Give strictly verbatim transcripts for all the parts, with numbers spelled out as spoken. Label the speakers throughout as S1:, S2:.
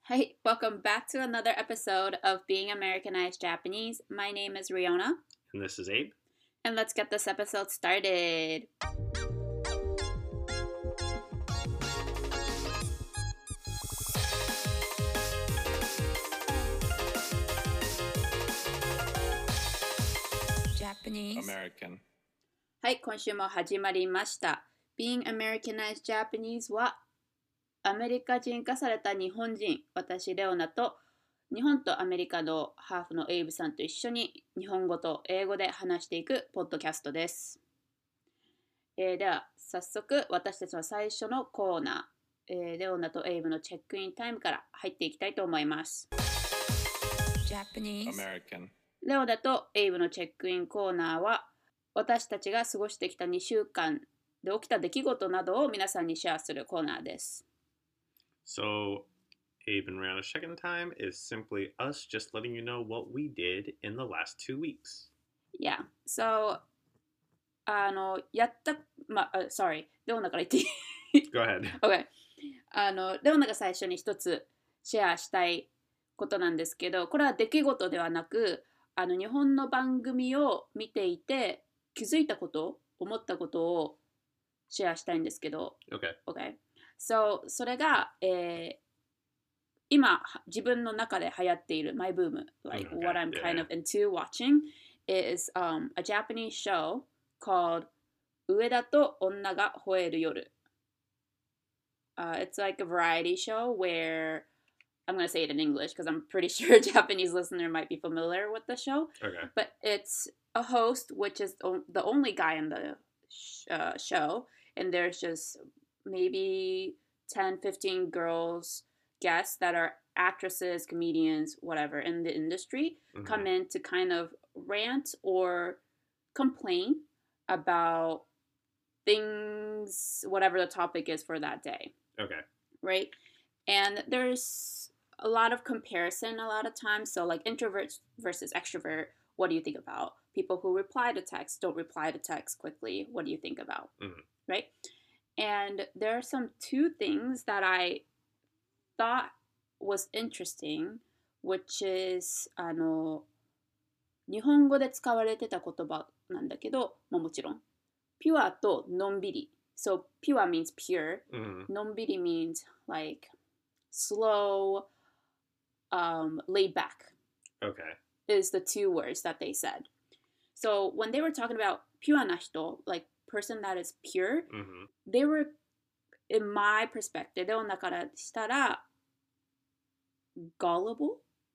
S1: Hi, welcome back to another episode of Being Americanized Japanese. My name is Riona,
S2: And this is Abe.
S1: and let's get this episode started. Japanese.
S2: American.
S1: はい、今週も始まりました。Being Americanized Japanese はアメリカ人化された日本人、私レオナと日本とアメリカのハーフのエイブさんと一緒に日本語と英語で話していくポッドキャストです。えー、では早速私たちの最初のコーナー、えー、レオナとエイブのチェックインタイムから入っていきたいと思います。Japanese
S2: American.
S1: レオナとエイブのチェックインコーナーは私たちが過ごしてきたにしゅうかんで起きた出来事などを皆さんにシェアするコーナーです。
S2: So, Abe and Rihanna's check-in time is simply us just letting you know what we did in the last two weeks.
S1: Yeah, so あのやったまあ、uh, sorry レオナから言っていい
S2: Go ahead.
S1: OK あのレオナが最初に一つシェアしたいことなんですけど、これは出来事ではなくあの日本の番組を見ていて気づいたこと思ったことをシェアしたいんですけど
S2: Okay.
S1: OK So それが、えー、今自分の中で流行っている my boom like
S2: Okay,
S1: what I'm
S2: yeah,
S1: kind
S2: yeah.
S1: of into watching is um, a Japanese show called 上田と女が吠える夜、uh, It's like a variety show where I'm going to say it in English because I'm pretty sure a Japanese listener might be familiar with the show
S2: Okay.
S1: but it's a host which is the only guy in the sh- uh, show and there's just maybe ten, fifteen girls, guests that are actresses, comedians, whatever in the industry
S2: Mhm.
S1: come in to kind of rant or complain about things, whatever the topic is for that day.
S2: Okay.
S1: Right? And there's a lot of comparison a lot of times. So, like introvert versus extrovert, what do you think about? People who reply to text, don't reply to text quickly. What do you think about?
S2: Mhm.
S1: Right? And there are some two things that I thought was interesting, which is あの日本語で使われてた言葉なんだけど、まあ、もちろんピュアとのんびり So pure means pure,
S2: Mhm.
S1: のんびり means like slow, um, laid back
S2: Okay.
S1: is the two words that they said. So when they were talking about ピュアな人 like person that is pure,
S2: Mhm.
S1: they were, in my perspective, レオナからしたら gullible?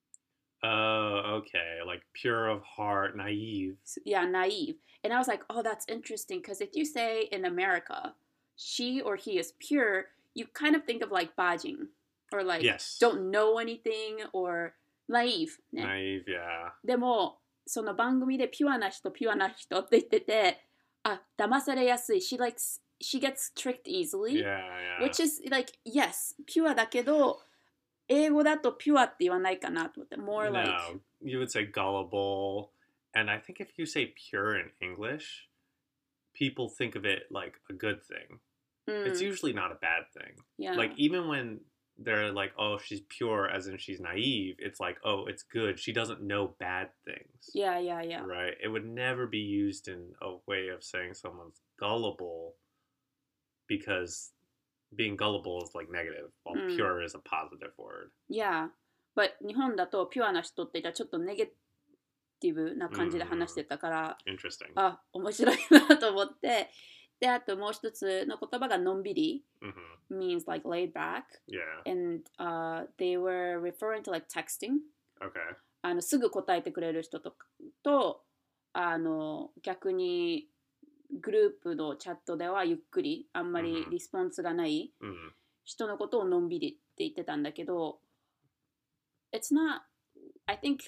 S2: Oh, okay. Like pure of heart, naive.
S1: Yeah, naive. And I was like, oh, that's interesting because if you say in America, she or he is pure, you kind of think of like bajing or like
S2: Yes.
S1: don't know anything or naive ね。
S2: Naive, yeah.
S1: でもその番組でピュアな人ピュアな人って言ってて、あ、騙されやすい。She likes, she gets tricked easily,
S2: Yeah, yeah.
S1: which is like, yes, ピュアだけど、英語だとピュアって言わないかなと思って。More like,
S2: No, you would say gullible. And I think if you say pure in English, people think of it like a good thing.
S1: うん、
S2: It's usually not a bad thing.
S1: yeah.
S2: Like, even when they're like, oh, she's pure, as in she's naive, it's like, oh, it's good. She doesn't know bad things.
S1: Yeah, yeah, yeah.
S2: Right? It would never be used in a way of saying someone's gullible because being gullible is like negative, while
S1: Mm.
S2: pure is a positive word.
S1: Yeah, but 日本だとピュアな人って言ったらちょっとネガティブな感じで話してたから、
S2: Interesting.
S1: あ、面白いなと思って。で、あともう一つの言葉がのんびり
S2: hmm
S1: means like laid back
S2: Yeah.
S1: and、uh, they were referring to like texting
S2: Okay.
S1: あのすぐ答えてくれる人とかとあの逆にグループのチャットではゆっくりあんまりリスポンスがない
S2: hmm
S1: 人のことをのんびりって言ってたんだけど It's not I think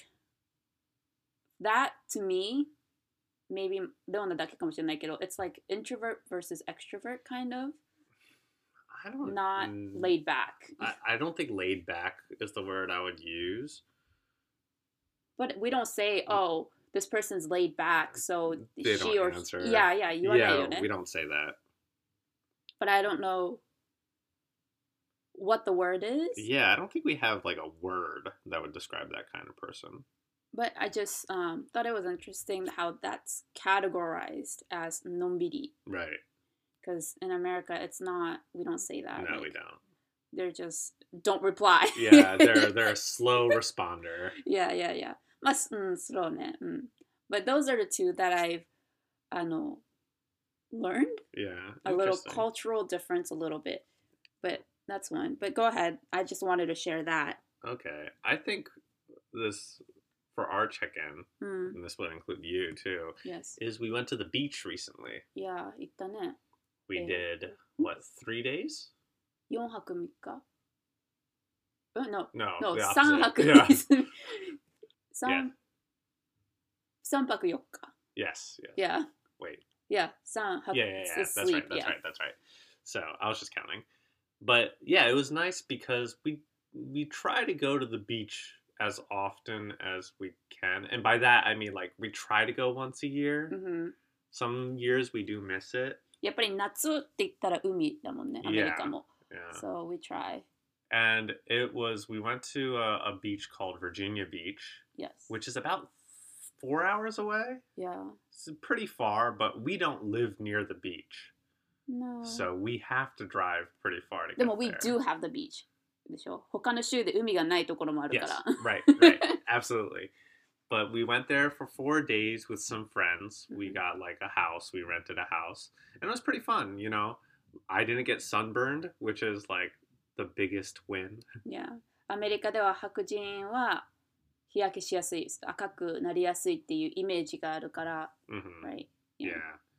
S1: that to me maybe レオナだけかもしれないけど It's like introvert versus extrovert kind of
S2: I don't
S1: not
S2: mm,
S1: laid back
S2: I, I don't think laid back is the word I would use.
S1: but we don't say oh this person's laid back so
S2: They
S1: she
S2: don't
S1: or
S2: answer.
S1: he, yeah yeah 言わないよ
S2: Yeah,
S1: ね
S2: we don't say that.
S1: but I don't know what the word is.
S2: Yeah, I don't think we have like a word that would describe that kind of person.
S1: But I just um, thought it was interesting how that's categorized as nombiri.
S2: Right.
S1: Because in America, it's not, we don't say that.
S2: No,
S1: like,
S2: we don't.
S1: They're just, don't reply.
S2: Yeah, they're they're a slow responder.
S1: Yeah, yeah, yeah. まあ、うん、slow ね。うん。But those are the two that I've, あの、learned.
S2: Yeah.
S1: A little
S2: interesting.
S1: cultural difference a little bit. But that's one. But go ahead. I just wanted to share that.
S2: Okay. I think this, for our check-in,
S1: うん。
S2: and this would include you too,
S1: Yes.
S2: is we went to the beach recently.
S1: Yeah, 行ったね。
S2: We
S1: Yeah.
S2: did, what, three days?
S1: よんはくみっか Oh, no.
S2: No,
S1: No,
S2: the
S1: さん
S2: opposite.
S1: 泊
S2: Yeah.
S1: 三三泊よっか
S2: Yes, yes.
S1: Yeah.
S2: Wait.
S1: Yeah, 三泊
S2: Yeah, yeah, yeah. That's
S1: sleep.
S2: right. That's
S1: yeah.
S2: right. That's right. So I was just counting, but yeah, it was nice because we we try to go to the beach as often as we can, and by that I mean like we try to go once a year.
S1: Mhm.
S2: Some years we do miss it.
S1: やっぱり夏って言ったら海だもんね、アメリカも。
S2: Yeah.
S1: So we try.
S2: And it was, we went to a, a beach called Virginia Beach,
S1: Yes.
S2: which is about four hours away.
S1: Yeah.
S2: It's pretty far, but we don't live near the beach.
S1: No.
S2: So we have to drive pretty far to
S1: で
S2: get
S1: も we
S2: there.
S1: do have the beach. でしょ他の州で海がないところもあるか
S2: Yes,
S1: ら。
S2: right, right. Absolutely. But we went there for four days with some friends. We
S1: Mhm.
S2: got like a house. We rented a house. And it was pretty fun, you know. I didn't get sunburned, which is like the biggest win.
S1: Yeah. アメリカでは白人は日焼けしやすい、赤くなりやすいっていうイメージがあるから、
S2: hmm
S1: right?
S2: Yeah.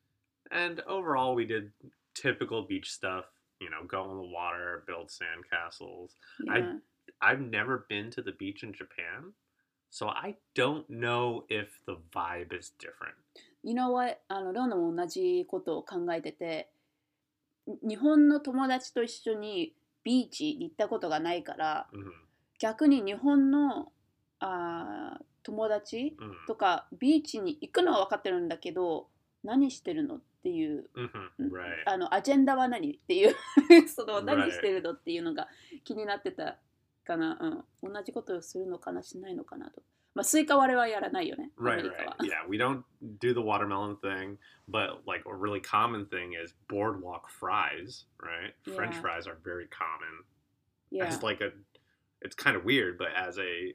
S2: And overall, we did typical beach stuff, you know, go in the water, build sandcastles.
S1: Yeah.
S2: I've never been to the beach in Japan, so I don't know if the vibe is different.
S1: You know what? あのロンドンも同じことを考えてて、日本の友達と一緒にビーチに行ったことがないから、
S2: hmm
S1: 逆に日本のあー友達
S2: hmm
S1: とかビーチに行くのは分かってるんだけど、何してるのっていう、
S2: hmm Right.
S1: あのアジェンダは何っていうその
S2: Right.
S1: 何してるのっていうのが気になってたかな、うん、同じことをするのかなしないのかなと。まあスイカ割れはやらないよね、アメ
S2: Right,
S1: リカ
S2: right.
S1: は。
S2: Yeah, we don't do the watermelon thing, but like a really common thing is boardwalk fries, right? French
S1: Yeah.
S2: fries are very common.
S1: Yeah.
S2: As like a, it's kind of weird, but as a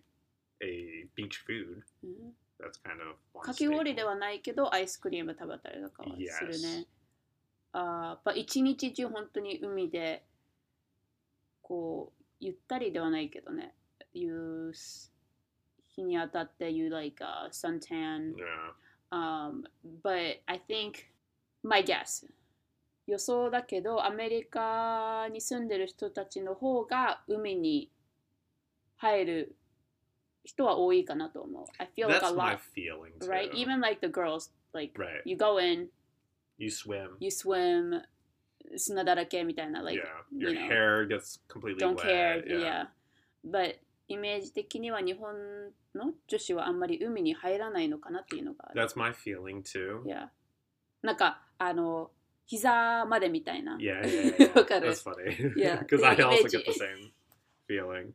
S2: a beach food,
S1: うん
S2: that's kind of one
S1: かき氷で
S2: staple.
S1: はないけどアイスクリーム食べたりとかはする
S2: Yes.
S1: ね。ああ、一日中本当に海でこうゆったりではないけどね、いう日に当たって you like a suntan.
S2: Yeah.
S1: Um, but I think my guess 予想だけどアメリカに住んでる人たちの方が海に入る人は多いかなと思う。I feel like
S2: That's
S1: a
S2: my
S1: lot,
S2: feeling too.
S1: right? Even like the girls, like
S2: Right.
S1: you go in,
S2: You swim.
S1: you swim, 砂だらけみたいな、like,
S2: yeah. Your
S1: you know,
S2: hair gets completely
S1: don't
S2: wet.
S1: care,
S2: Yeah.
S1: yeah. But イメージ的には日本の女子はあんまり海に入らないのかなっていうのがある。
S2: That's my feeling too.
S1: Yeah. なんかあの膝までみたいな。
S2: Yeah, yeah, yeah.
S1: わかる。
S2: That's funny.
S1: Yeah.
S2: Because I also
S1: Image.
S2: get the same feeling.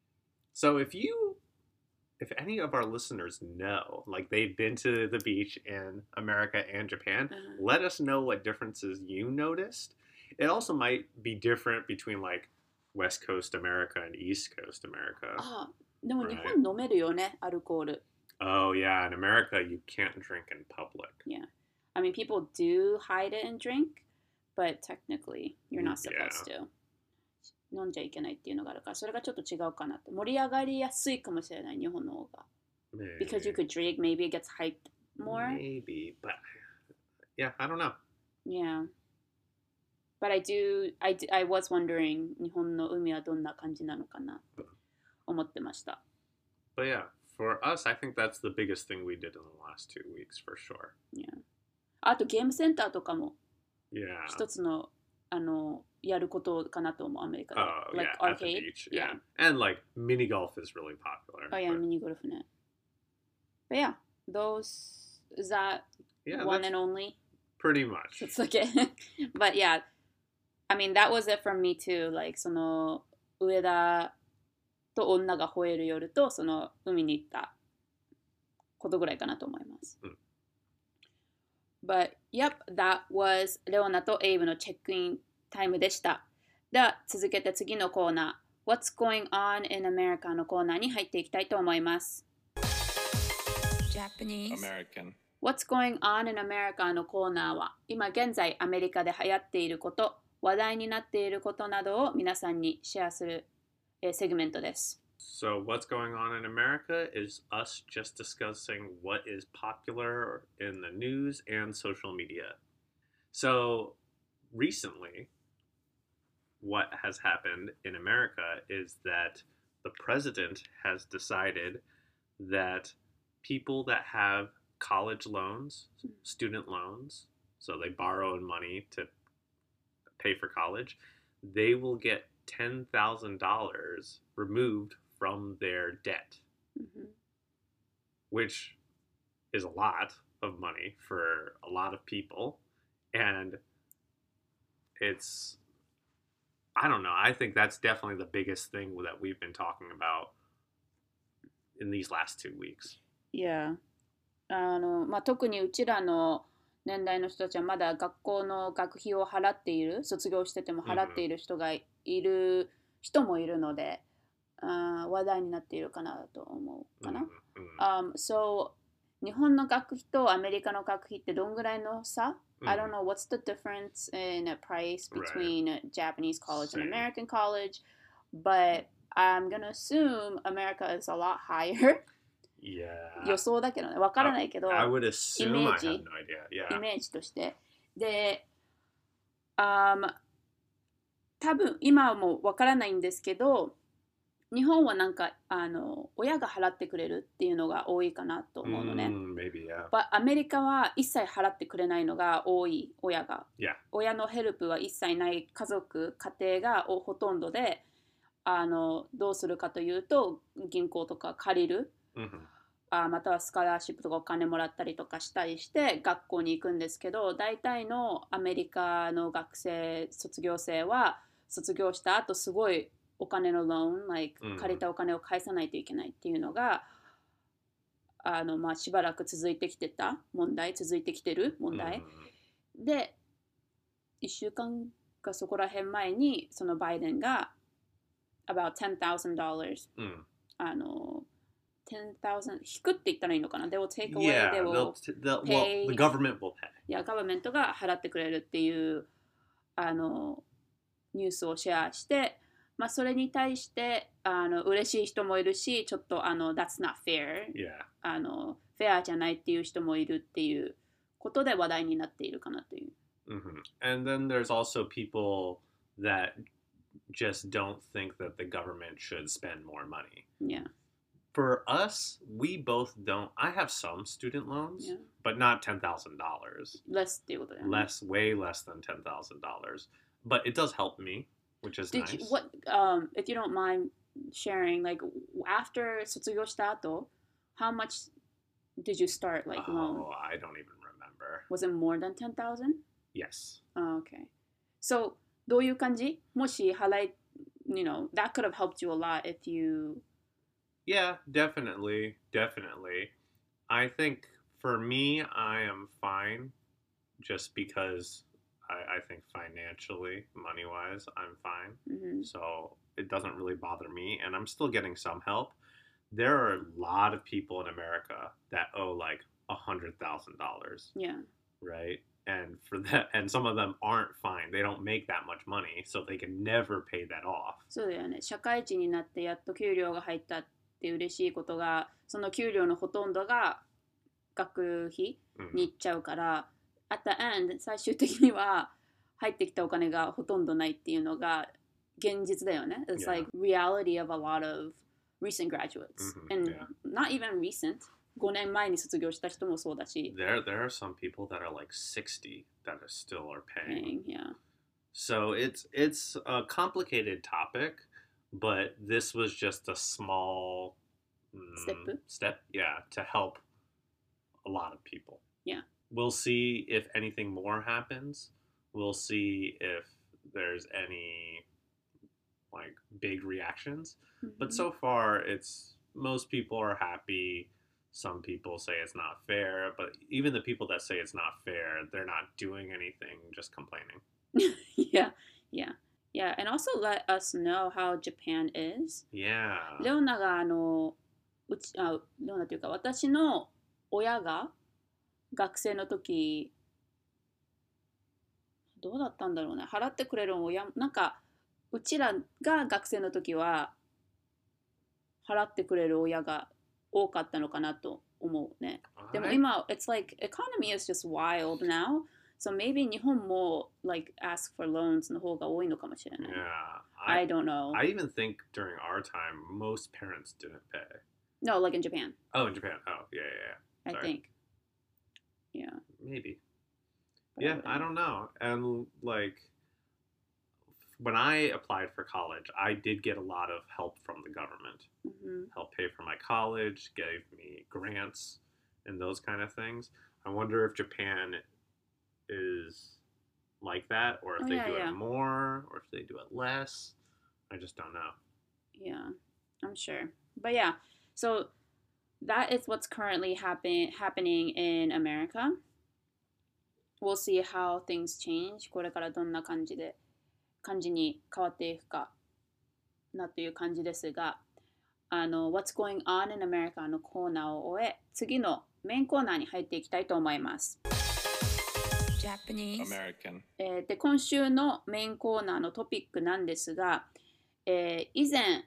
S2: So if you, if any of our listeners know, like they've been to the beach in America and Japan,
S1: Uh-huh.
S2: let us know what differences you noticed. It also might be different between like West Coast America and East Coast America.
S1: あ、でも
S2: Right.
S1: 日本飲めるよね、アルコール。
S2: Oh yeah, in America you can't drink in public.
S1: Yeah. I mean, people do hide it and drink, but technically you're not
S2: Yeah.
S1: supposed to. 飲んじゃいけないっていうのがあるから、それがちょっと違うかなって。盛り上がりやすいかもしれない、日本の方が。
S2: Maybe.
S1: Because you could drink, maybe it gets hyped more.
S2: Maybe, but yeah, I don't know.
S1: Yeah. But I do, I, do- I was wondering 日本の海はどんな感じなのかなと思ってました。
S2: But yeah, for us, I think that's the biggest thing we did in the last two weeks for sure.
S1: Yeah. あとゲームセンターとかも
S2: Yeah.
S1: 一つのあのやることかなと思う、アメリカで。
S2: Oh,
S1: like
S2: yeah, at the
S1: arcade.
S2: beach.
S1: Yeah.
S2: Yeah. And like mini golf is really popular.
S1: Oh yeah,
S2: but-
S1: ミニゴルフね。But yeah, those, is that
S2: yeah,
S1: one
S2: that's
S1: and only?
S2: pretty much.
S1: It's okay. But yeah, I mean, that was it from me too. Like, その上田と女が吠える夜とその海に行ったことぐらいかなと思います。
S2: うん。
S1: But yep, that was レオナとエイブのチェックインタイムでした。では続けて次のコーナー What's going on in America のコーナーに入っていきたいと思います。
S3: Japanese.
S2: American.
S1: What's going on in America のコーナーは今現在アメリカで流行っていること、話題になっていることなどを皆さんにシェアする、えー、セグメントです。
S2: So, what's going on in America is us just discussing what is popular in the news and social media. So, recently, what has happened in America is that the president has decided that people that have college loans, student loans, so they borrow money to pay for college, they will get ten thousand dollars removed from their debt,
S1: mm-hmm.
S2: which is a lot of money for a lot of people. And it's, I don't know, I think that's definitely the biggest thing that we've been talking about in these last two weeks.
S1: Yeah. あのまあ、特にうちらの年代の人たちはまだ学校の学費を払っている、卒業してても払っている人がいる人もいるので、あ話題になっているかなと思うかな。Um, so 日本の学費とアメリカの学費ってどんぐらいの差、I don't know what's the difference in price between right. Japanese college and American college, but I'm gonna assume America is a lot higher.
S2: Yeah.
S1: 予想だけどね、わからないけど、
S2: I would assume
S1: イメー
S2: I
S1: ジ、
S2: have no idea. Yeah.
S1: イメージとして。で、um, 多分今はもうわからないんですけど、日本はなんかあの親が払ってくれるっていうのが多いかなと思うのね。
S2: Mm, maybe, yeah.
S1: But アメリカは一切払ってくれないのが多い、親が。
S2: Yeah.
S1: 親のヘルプは一切ない家族、家庭がほとんどで、あのどうするかというと、銀行とか借りる。
S2: Mm-hmm.
S1: あまたはスカラーシップとかお金もらったりとかしたりして学校に行くんですけど、大体のアメリカの学生卒業生は卒業した後すごいお金のローン、like 借りたお金を返さないといけないっていうのが、あのまあしばらく続いてきてた問題、続いてきてる問題、
S2: mm-hmm.
S1: でいっしゅうかんかそこら辺前にそのバイデンが about ten thousand dollars、mm. あのten thousand 引くって言ったらいいのかな。They will take away,
S2: yeah,
S1: they will
S2: they'll, they'll,
S1: pay.
S2: Well, the government will pay.
S1: いや、ガバメントが払ってくれるっていうあのニュースをシェアして、まあそれに対してあの嬉しい人もいるし、ちょっとあの That's not fair、
S2: yeah.
S1: あのフェアじゃないっていう人もいるっていうことで話題になっているかなという。
S2: Mm-hmm. And then there's also people that just don't think that the government should spend more money.
S1: Yeah.For
S2: us, we both don't. I have some student loans,
S1: yeah.
S2: but not ten thousand dollars.
S1: Less っていうことだよね。
S2: Less, way less than ten thousand dollars. But it does help me, which is
S1: Did
S2: nice.
S1: You, what, um, if you don't mind sharing, like after 卒業した後、how much did you start like
S2: oh,
S1: loan?
S2: I don't even remember.
S1: Was it more than ten thousand?
S2: Yes.
S1: Oh, okay. So どういう感じ？もし払い、you know, that could have helped you a lot if you...Yeah,
S2: definitely, definitely. I think for me, I am fine just because I, I think financially, money-wise, I'm fine.
S1: Mm-hmm.
S2: So it doesn't really bother me, and I'm still getting some help. There are a lot of people in America that owe like a hundred thousand dollars.
S1: Yeah.
S2: Right? And for that, and some of them aren't fine. They don't make that much money, so they can never pay that off.
S1: そうだよね。社会人になってやっと給料が入ったって嬉しいことが、その給料のほとんどが学費に行っちゃうから、mm. at the end 最終的には入ってきたお金がほとんどないっていうのが現実だよね。It's
S2: yeah.
S1: like reality of a lot of recent graduates、
S2: mm-hmm.
S1: and
S2: yeah.
S1: not even recent. ごねんまえに卒業した人もそうだし。
S2: There, there are some people that are like sixty that are still are paying.
S1: paying yeah.
S2: So it's it's a complicated topic.But this was just a small mm,
S1: step.
S2: step, yeah, to help a lot of people.
S1: Yeah.
S2: We'll see if anything more happens. We'll see if there's any like big reactions. But
S1: Mhm.
S2: so far, it's most people are happy. Some people say it's not fair, but even the people that say it's not fair, they're not doing anything, just complaining.
S1: Yeah, yeah, yeah. And also let us know how Japan is.
S2: Yeah.
S1: レオナがあのうちあレオナというか私の親が学生の時どうだったんだろうね。払ってくれる親なんかうちらが学生の時は払ってくれる親が多かったのかなと思うね。でも
S2: I,
S1: 今 it's like economy is just wild now. So maybe 日本も like ask for loans の方が多いのかもしれない。
S2: yeah.
S1: I
S2: I,
S1: don't know.
S2: I even think during our time, most parents didn't pay.
S1: No, like in Japan,
S2: Oh, in Japan. Oh, yeah, yeah, yeah.
S1: I
S2: Sorry.
S1: think. Yeah.
S2: Maybe.
S1: but
S2: Yeah,
S1: wouldn't
S2: I
S1: know.
S2: don't know. And like when I applied for college, I did get a lot of help from the government.
S1: Mhm.
S2: Help pay for my college, gave me grants and those kind of things. I wonder if Japan is like that or if
S1: Oh,
S2: they
S1: yeah,
S2: do
S1: yeah.
S2: it more or if they do it less. I just don't know.
S1: Yeah, I'm sure. But yeah, so that is what's currently happen happening in America. We'll see how things change. これからどんな感じで感じに変わっていくかなという感じですが、あの What's going on in America のコーナーを終え、次のメインコーナーに入っていきたいと思います。
S3: Japanese
S2: American.
S1: えーで今週のメインコーナーのトピックなんですが、えー以前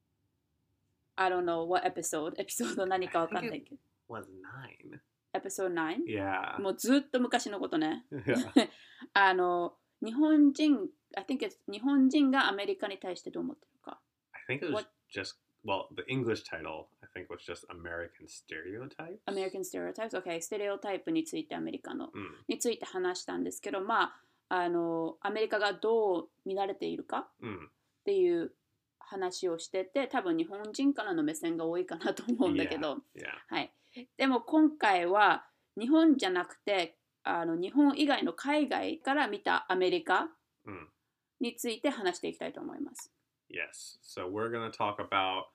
S1: I don't know what episode エピソード何かわかんないけど
S2: Was nine.
S1: Episode ナイン
S2: Yeah.
S1: もうずっと昔のことね
S2: Yeah.
S1: あの日本人 I think it's 日本人がアメリカに対してどう思ってるか
S2: I think it was
S1: What-
S2: just well, the English title I think was just American Stereotypes.
S1: American stereotypes OK ステレオタイプについてアメリカの
S2: Mm.
S1: について話したんですけどまああのアメリカがどう見られているか
S2: Mm.
S1: っていう話をしてて多分日本人からの目線が多いかなと思うんだけど、
S2: Yeah.
S1: はい、でも今回は日本じゃなくてあの日本以外の海外から見たアメリカ
S2: Mm.
S1: について話していきたいと思います。
S2: Yes. So we're going to talk about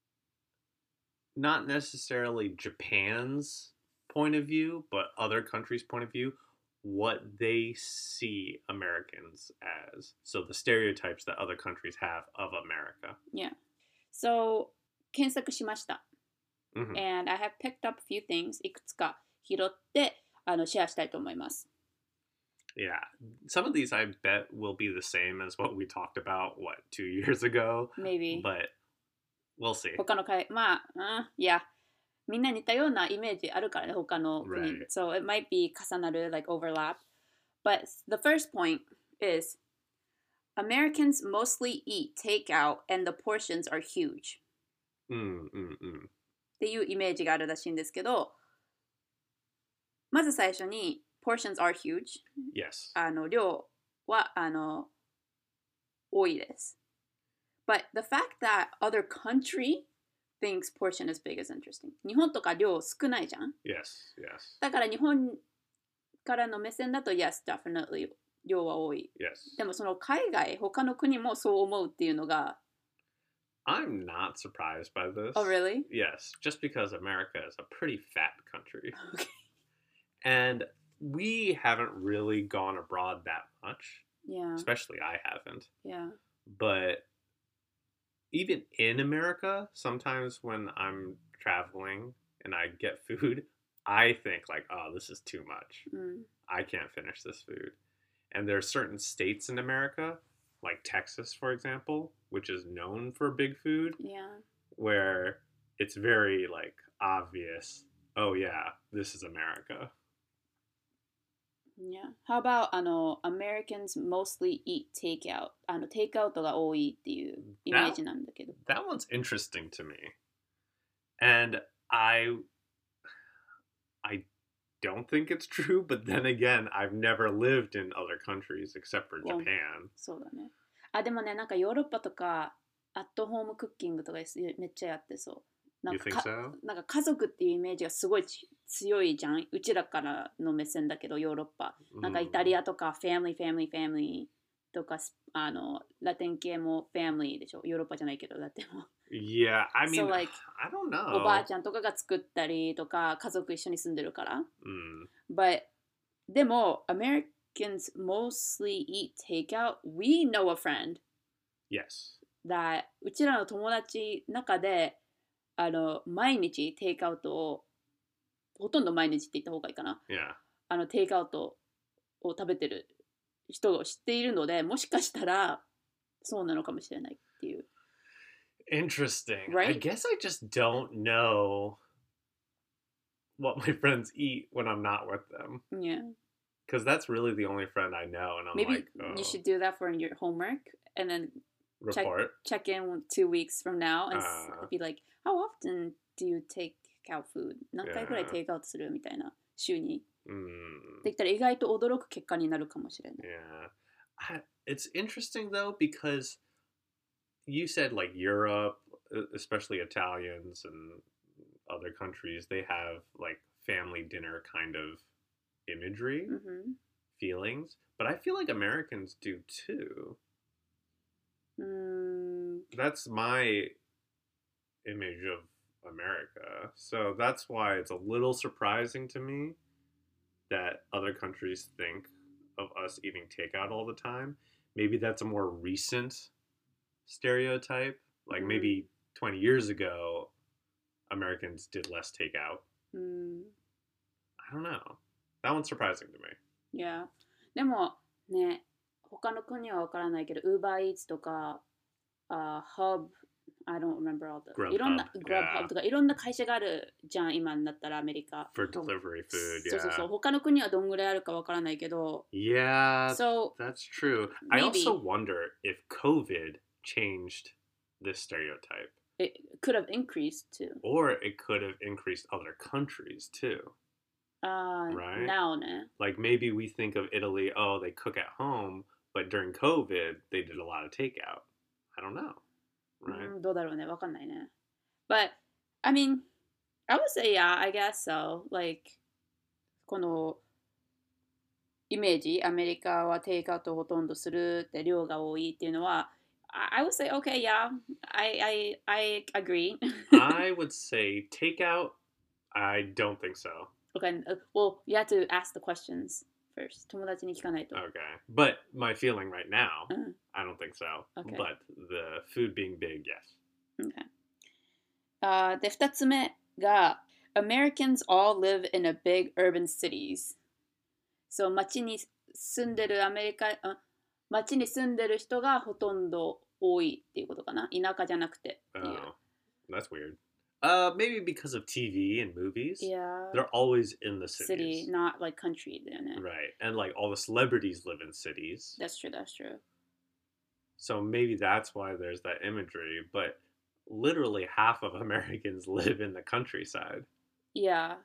S2: not necessarily Japan's point of view, but other countries' point of view, what they see Americans as. So the stereotypes that other countries have of America.
S1: Yeah. So 検索しました。
S2: Mhm.
S1: And I have picked up a few things いくつか拾ってあのシェアしたいと思います。
S2: Yeah. Some of these I bet will be the same as what we talked about, what, two years ago?
S1: Maybe
S2: But we'll see.
S1: 他の海まあ、うん、いやみんな似たようなイメージあるからね他の国、
S2: Right.
S1: So it might be 重なる like overlap. But the first point is Americans mostly eat takeout and the portions are huge.
S2: Mm, mm, mm.
S1: っていうイメージがあるらしいんですけどまず最初に portions are huge
S2: Yes.
S1: あの量はあの多いです But the fact that other country thinks portion is big is interesting 日本とか量少ないじゃん
S2: Yes, yes,
S1: だから日本からの目線だと Yes, definitely 量は多い
S2: yes.
S1: でもその海外他の国もそう思うっていうのが
S2: I'm not surprised by this.
S1: Oh really?
S2: Yes, just because America is a pretty fat country.
S1: Okay.
S2: And we haven't really gone abroad that much.
S1: Yeah,
S2: Especially I haven't.
S1: yeah
S2: But even in America, sometimes when I'm traveling and I get food, I think like, oh, this is too much.
S1: うん
S2: I can't finish this food. And there are certain states in America, like Texas, for example, which is known for big food,
S1: Yeah
S2: where it's very like obvious, oh yeah, this is America.
S1: Yeah. How about あの Americans mostly eat takeout あのテイクアウトが多いっていうイメージなんだけど
S2: That one's interesting to me. And I I don't think it's true, but then again, I've never lived in other countries except for
S1: Well,
S2: Japan.
S1: そうだねあでもねなんかヨーロッパとかアットホームクッキングとかですめっちゃやってそうなん
S2: You
S1: か
S2: think
S1: か
S2: so?
S1: なんか家族っていうイメージがすごいち強いじゃんうちらからの目線だけどヨーロッパなんかイタリアとかファミリーファミリーファミリーとかスあのラテン系も family でしょ。ヨーロッパじゃないけどラテンも。
S2: Yeah, I
S1: So
S2: mean,
S1: like
S2: I don't
S1: おばあ
S2: know.
S1: ちゃんとかが作ったりとか家族一緒に住んでるから。
S2: Mm,
S1: But でも Americans mostly eat takeout. We know a friend
S2: yes.
S1: that うちらの友達の中であの毎日テイクアウトをほとんど毎日って言った方がいいかな。
S2: Yeah.
S1: あのテイクアウトを食べてる人を知っているので、もしかしたらそうなのかもしれないっていう。
S2: Interesting. I
S1: Right?
S2: guess I just don't know what my friends eat when I'm not with them.
S1: Yeah.
S2: Because that's really the only friend I know. And I'm
S1: Maybe
S2: like, oh,
S1: you should do that for your homework and then
S2: report.
S1: check in two weweeks from now and s-
S2: Uh.
S1: be like, how often do you take out food? 何回くらい
S2: Yeah.
S1: テイクアウトするみたいな週に。
S2: Mm,
S1: できたら意外と驚く結果になるかもしれない。
S2: yeah. I, it's interesting though, because you said like Europe, e- especially Italians and other countries, they have like family dinner kind of imagery,
S1: うんふん
S2: feelings. But I feel like Americans do too.
S1: うーん
S2: That's my image of America. So that's why it's a little surprising to me that other countries think of us eating takeout all the time. Maybe that's a more recent stereotype. Like
S1: Mm.
S2: maybe twenty years ago, Americans did less takeout.
S1: うーん
S2: I don't know. That one's surprising to me.
S1: Yeah. でもね、他の国はわからないけど、Uber Eats とか、あ Hub、I don't remember all the、
S2: Grubhub
S1: いろんな
S2: yeah.
S1: Grubhub とかいろんな会社があるじゃん、今になったらアメリカ。
S2: For delivery food,
S1: そうそうそう。
S2: yeah.
S1: 他の国はどんぐらいあるかわからないけど、
S2: Yeah,
S1: So
S2: that's true. I
S1: maybe-
S2: also wonder if COVID changed this stereotype.
S1: it could have increased too.
S2: Or it could have increased other countries too.
S1: あー
S2: Right.
S1: Now ね。
S2: Like maybe we think of Italy, oh, they cook at home, but during COVID, they did a lot of takeout. I don't know. Right?
S1: うんどうだろうね、わかんないね。But, I mean, I would say yeah, I guess so. Like, このイメージ、アメリカはテイクアウトをほとんどするって量が多いっていうのは、I, I would say, okay, yeah, I, I, I agree.
S2: I would say takeout, I don't think so.
S1: Okay, uh, well, you have to ask the questions first. 友達に聞かないと。
S2: Okay. But my feeling right now,
S1: Uh,
S2: I don't think so.
S1: Okay.
S2: But the food being big, yes.
S1: Okay. あーで、二つ目が、Americans all live in a big urban cities. So, 街に住んでるアメリカ、あ街に住んでる人がほとんど多いっていうことかな。田舎じゃなくてっていう
S2: Oh, that's weird. Uh, maybe because of T V and movies.
S1: Yeah,
S2: They're always in the
S1: city,
S2: cities.
S1: not like country だよね。
S2: Right. And like all the celebrities live in cities.
S1: That's true, that's true.
S2: So maybe that's why there's that imagery. But literally half of Americans live in the countryside.
S1: Yeah,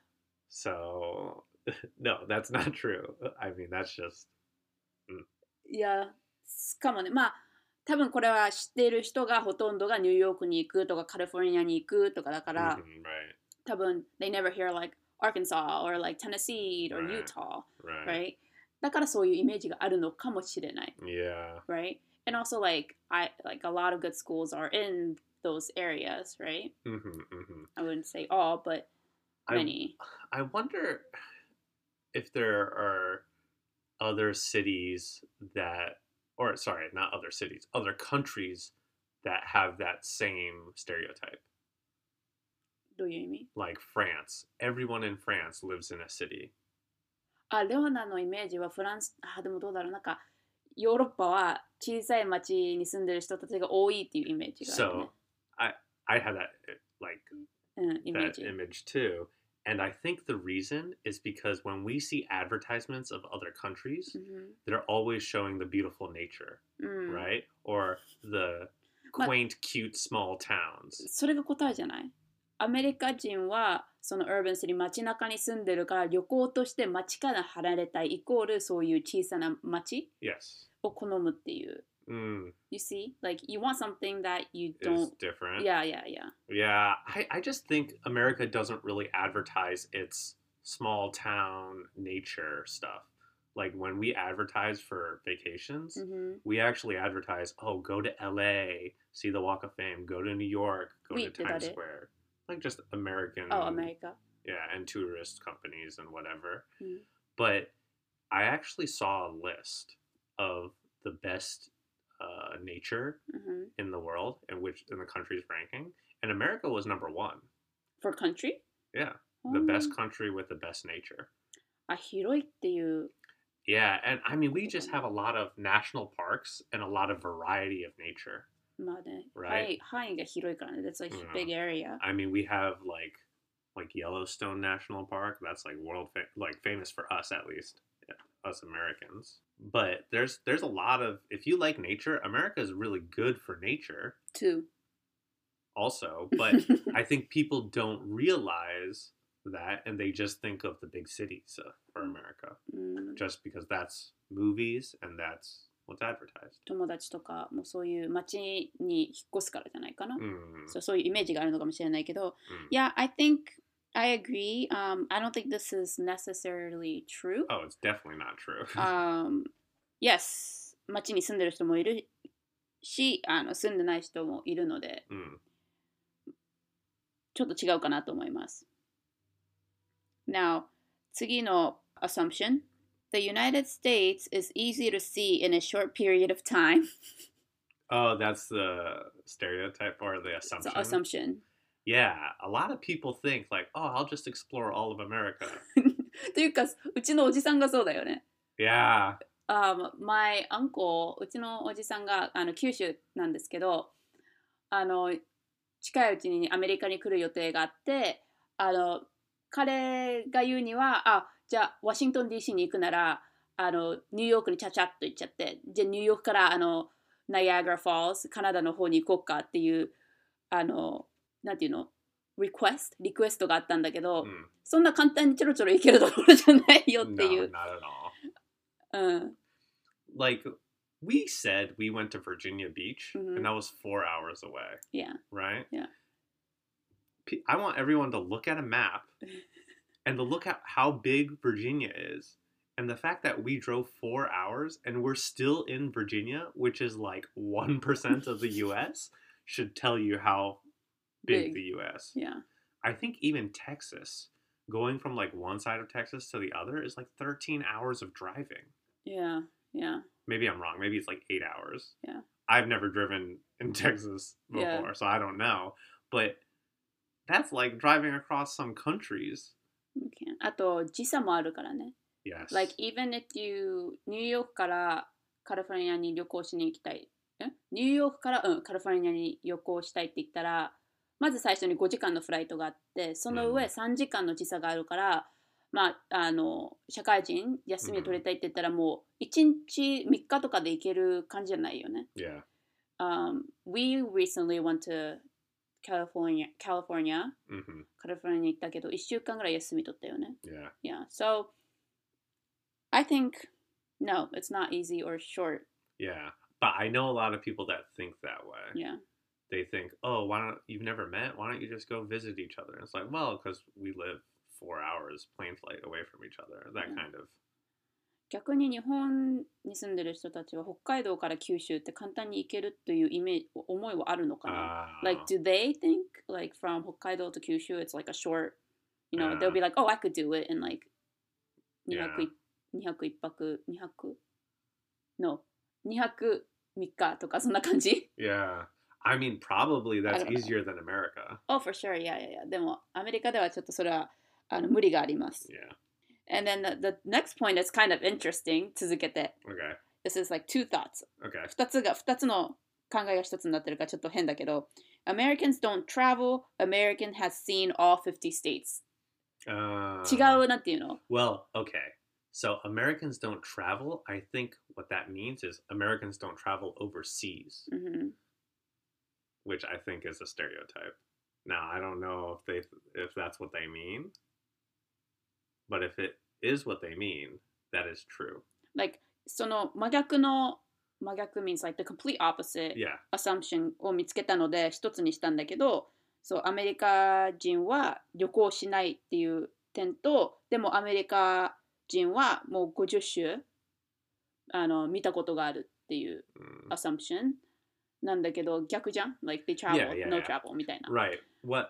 S2: So no, that's not true. I mean, that's just.
S1: いや、かもね。まあ、多分これは知っている人がほとんどがニューヨークに行くとかカリフォルニアに行くとかだから、
S2: Mhm, right.
S1: 多分 they never hear like Arkansas or like Tennessee or
S2: Right.
S1: Utah,
S2: Right.
S1: right? だからそういうイメージがあるのかもしれない。
S2: Yeah.
S1: Right? And also like I like a lot of good schools are in those areas, right?
S2: hmm hmm
S1: I wouldn't say all, but
S2: I-
S1: many.
S2: I wonder if there are other cities that, or sorry, not other cities, other countries that have that same stereotype.
S1: どういう意味？
S2: Like France. Everyone in France lives in a city.
S1: あ、レオナのイメージはフランス、あ、でもどうだろう、なんかヨーロッパは小さい町に住んでる人たちが多いっていうイメージがあるね。
S2: So I I had that like
S1: うん、イメー
S2: that
S1: ジ。
S2: image too. And I think the reason is because when we see advertisements of other countries,
S1: うん
S2: they're always showing the beautiful nature,
S1: うん
S2: right? Or the
S1: But-
S2: quaint, cute, small towns.
S1: それが答えじゃない？アメリカ人はその urban city 街中に住んでるから旅行として街から離れたいイコールそういう小さな街
S2: Yes.
S1: を好むっていう。
S2: Mm,
S1: You see? Like you want something that you
S2: is
S1: don't.
S2: different.
S1: Yeah, yeah, yeah.
S2: Yeah, I, I just think America doesn't really advertise its small town nature stuff. like when we advertise for vacations,
S1: Mm-hmm.
S2: we actually advertise, oh, go to L A, see the Walk of Fame, go to New York, go
S1: We
S2: to
S1: did
S2: Times
S1: that.
S2: Square. Like just American,
S1: Oh, America.
S2: yeah, and tourist companies and whatever.
S1: Mm.
S2: But I actually saw a list of the best uh, nature
S1: Mm-hmm.
S2: in the world and which in the country's ranking, and America was number one.
S1: For country?
S2: Yeah, the best country with the best nature.
S1: あ、広いっていう。
S2: Yeah, and I mean we just have a lot of national parks and a lot of variety of nature.
S1: まあね、
S2: Right.
S1: 範囲、範囲が広いからね。That's a
S2: Mm.
S1: big area.
S2: I mean we have like like Yellowstone National Park. That's like world fa- like famous for us at least, yeah, us Americans. But there's there's a lot of if you like nature, America is really good for nature.
S1: Two.
S2: Also, but I think people don't realize that and they just think of the big cities uh, for America
S1: うん、
S2: just because that's movies and that's what's advertised.
S1: 友達とかもそういう街に引っ越すからじゃないかな。
S2: Mm.
S1: そう、そういうイメージがあるのかもしれないけど、
S2: Mm.
S1: Yeah, I think I agree. Um, I don't think this is necessarily true.
S2: Oh, it's definitely not true.
S1: Um, yes, 街に住んでる人もいるし、あの住んでない人もいるので、
S2: mm.
S1: ちょっと違うかなと思います。Now, 次の assumption. The United States is easy to see in a short period of time.
S2: Oh, that's the stereotype or the assumption.
S1: So, assumption.
S2: Yeah, a lot of people think like, oh, I'll just explore all of America.
S1: というか、うちのおじさんがそうだよね。
S2: Yeah.
S1: Um, my uncle, うちのおじさんがあの九州なんですけど、あの近いうちにアメリカに来る予定があって、あの彼が言うには、あ、じゃあワシントン ディーシー に行くなら、あのニューヨークにちゃちゃっと行っちゃって、じゃあニューヨークからあのナイアガラフォールズ、カナダの方に行こうかっていう、あの、なんていうの、リクエスト、リクエストがあったんだけど、
S2: Mm.
S1: そんな簡単にちょろちょろ行けるところじゃないよってい
S2: No,
S1: う。
S2: not at all.
S1: うん。
S2: Like we said we went to Virginia Beach
S1: Mhm.
S2: and that was four hours away,
S1: Yeah.
S2: right?
S1: Yeah.
S2: P- I want everyone to look at a map and to look at how big Virginia is. And the fact that we drove four hours and we're still in Virginia, which is like one percent of the U S, should tell you how big,
S1: Big.
S2: the U S.
S1: Yeah.
S2: I think even Texas, going from like one side of Texas to the other is like thirteen hours of driving.
S1: Yeah. Yeah.
S2: Maybe I'm wrong. Maybe it's like eight hours.
S1: Yeah.
S2: I've never driven in Texas before,
S1: Yeah.
S2: so I don't know. But that's like driving across some countries.
S1: Okay. あと時差もあるからね。
S2: Yes.
S1: Like even if you ニューヨークからカリフォルニアに旅行しに行きたい。えニューヨークからうんカリフォルニアに旅行したいって言ったら、まず最初にごじかんのフライトがあって、その上
S2: うん
S1: さんじかんの時差があるから、まああの社会人休みを取りたいって言ったらもういちにちみっかとかで行ける感じじゃないよね。
S2: yeah.
S1: Um, we recently went to California, California,
S2: hmm
S1: カリフォルニアに行ったけどいっしゅうかんぐらい休み取ったよね。
S2: Yeah.
S1: Yeah, so I think no, it's not easy or short.
S2: Yeah. But I know a lot of people that think that way.
S1: Yeah,
S2: They think, oh, why don't you've never met? Why don't you just go visit each other? And it's like, well, because we live four hours plane flight away from each other. That
S1: Yeah.
S2: kind of.
S1: 逆に日本に住んでる人たちは北海道から九州って簡単に行けるというイメージ思いはあるのかな、
S2: Uh,
S1: Like, do they think like from 北海道to 九州 it's like a short, you know,
S2: Yeah.
S1: they'll be like, oh, I could do it in like に
S2: Yeah.
S1: 泊いにはくいっぱくにはく No にはくみっかとかそんな感じ
S2: yeah. I mean, probably that's
S1: don't know.
S2: easier than America.
S1: Oh, for sure, yeah, yeah, yeah. でもアメリカではちょっとそれはあの無理があります。
S2: Yeah.
S1: And then the, the next point is kind of interesting. 続けて。
S2: Okay.
S1: This is like two thoughts.
S2: Okay.
S1: 二つが、二つの考えが一つになってるからちょっと変だけど。Americans don't travel. American has seen all fifty states.
S2: Uh,
S1: 違う、なんていうの
S2: Well, okay. So Americans don't travel. I think what that means is Americans don't travel overseas,
S1: うん
S2: which I think is a stereotype. Now, I don't know if they if that's what they mean, but if it is what they mean, that is true.
S1: Like, その真逆の、真逆 means like the complete opposite
S2: Yeah.
S1: assumption を見つけたので一つにしたんだけど、そう、アメリカ人は旅行しないっていう点と、でもアメリカ人はもうごじゅっ種あの見たことがあるっていう
S2: Mm.
S1: assumption なんだけど逆じゃん like they travel,
S2: Yeah, yeah,
S1: no
S2: yeah.
S1: travel みたいな
S2: Right. What?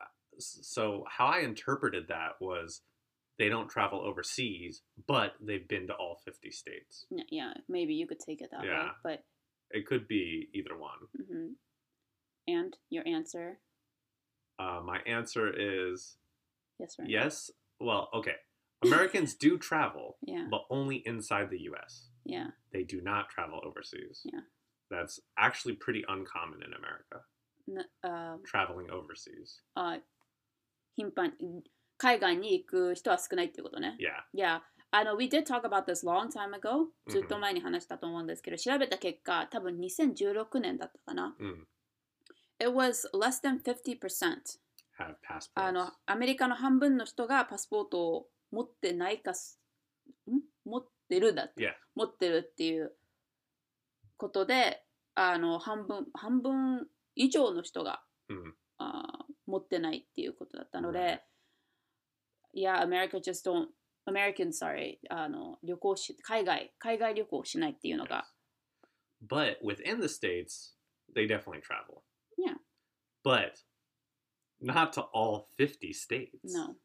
S2: So how I interpreted that was they don't travel overseas, but they've been to all fifty states.
S1: Yeah, yeah, maybe you could take it that way,
S2: Yeah.
S1: but
S2: It could be either one.
S1: mhm. And your answer?
S2: Uh, my answer is
S1: Yes or no?
S2: yes. Well, okay. Americans do travel,
S1: Yeah,
S2: but only inside the U S.
S1: yeah,
S2: They do not travel overseas.
S1: Yeah.
S2: That's actually pretty uncommon in America,
S1: なあ
S2: traveling overseas.
S1: あ頻繁海外に行く人は少ないっていうことね。
S2: Yeah.
S1: Yeah, あの we did talk about this long time ago
S2: うん
S1: ずっと前に話したと思うんですけど、調べた結果多分にせんじゅうろくねんだったかな。
S2: Mm.
S1: It was less than fifty percent
S2: Have passports.
S1: あのアメリカの半分の人がパスポートを持ってないかすん持ってるだって、
S2: Yeah.
S1: 持ってるっていうことであの半分半分以上の人が、
S2: Mm.
S1: あ持ってないっていうことだったの
S2: Right.
S1: で、Yeah, America just don't Americans, sorry あの旅行し海外海外旅行をしないっていうのが、
S2: But within the states, they definitely travel.
S1: Yeah.
S2: But not to all fifty states.
S1: No.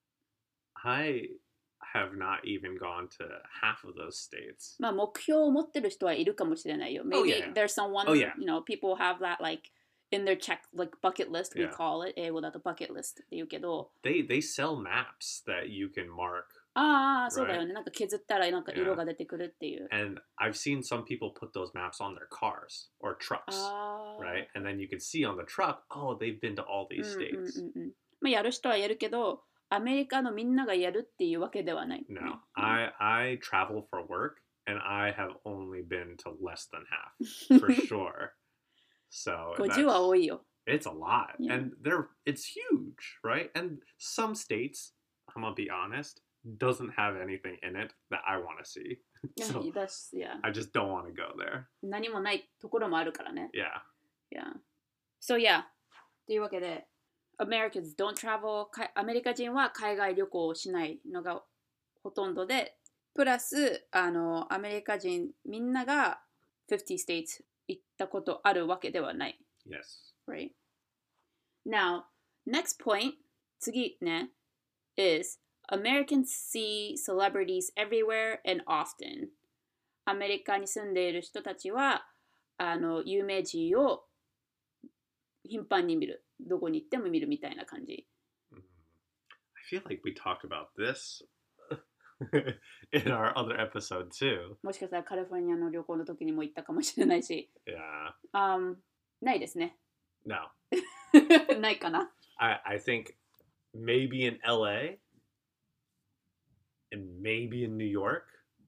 S2: I have not even gone to half of those states.
S1: まあ目標を持ってる人はいるかもしれないよ。Maybe
S2: Oh, yeah.
S1: there's someone,
S2: Oh, yeah.
S1: you know, people have that like in their check, like bucket list, we
S2: Yeah.
S1: call it. 英語だと bucket list って言うけど、
S2: They they sell maps that you can mark,
S1: ああ、そうだよね。なんか削ったらなんか
S2: Yeah.
S1: 色が出てくるっていう。
S2: and I've seen some people put those maps on their cars or trucks,
S1: ああ。
S2: right? And then you can see on the truck, oh, they've been to all
S1: うん
S2: these
S1: うん
S2: states.
S1: うんうん。まあやる人はやるけど、アメリカのみんながやるっていうわけではない。
S2: No, I I travel for work, and I have only been to less than half for sure. So
S1: ごじゅうは
S2: that's-
S1: 多いよ。
S2: it's a lot,
S1: Yeah.
S2: and they're it's huge, right? And some states, I'm gonna be honest, doesn't have anything in it that I want to see.
S1: いや
S2: So
S1: だし、いや
S2: I just don't want to go there.
S1: 何もないところもあるからね。
S2: Yeah.
S1: Yeah. So yeah. というわけで、Americans don't travel かアメリカ人は海外旅行をしないのがほとんどで、プラスあのアメリカ人みんながfifty states 行ったことあるわけではない。
S2: Yes.
S1: Right? Now, next point 次ね is Americans see celebrities everywhere and often. アメリカに住んでいる人たちはあの有名人を頻繁に見る。どこに行っても見るみたいな感じ。
S2: Mm. I feel like we talked about this in our other episode too.
S1: もしかしたらカリフォルニアの旅行の時にも行ったかもしれないし。
S2: Yeah.
S1: Um, ないですね。
S2: No.
S1: ないかな。
S2: I, I think maybe in L A and maybe in New York.